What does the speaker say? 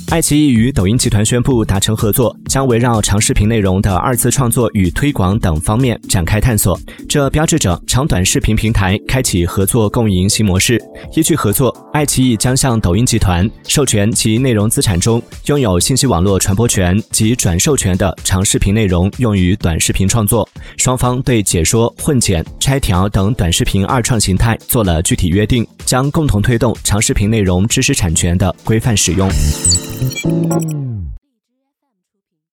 爱奇艺与抖音集团宣布达成合作，将围绕长视频内容的二次创作与推广等方面展开探索。这标志着长短视频平台开启合作共赢新模式。依据合作，爱奇艺将向抖音集团授权其内容资产中拥有信息网络传播权及转授权的长视频内容用于短视频创作。双方对解说、混剪、拆条等短视频二创形态做了具体约定，将共同推动长视频内容知识产权的规范使用。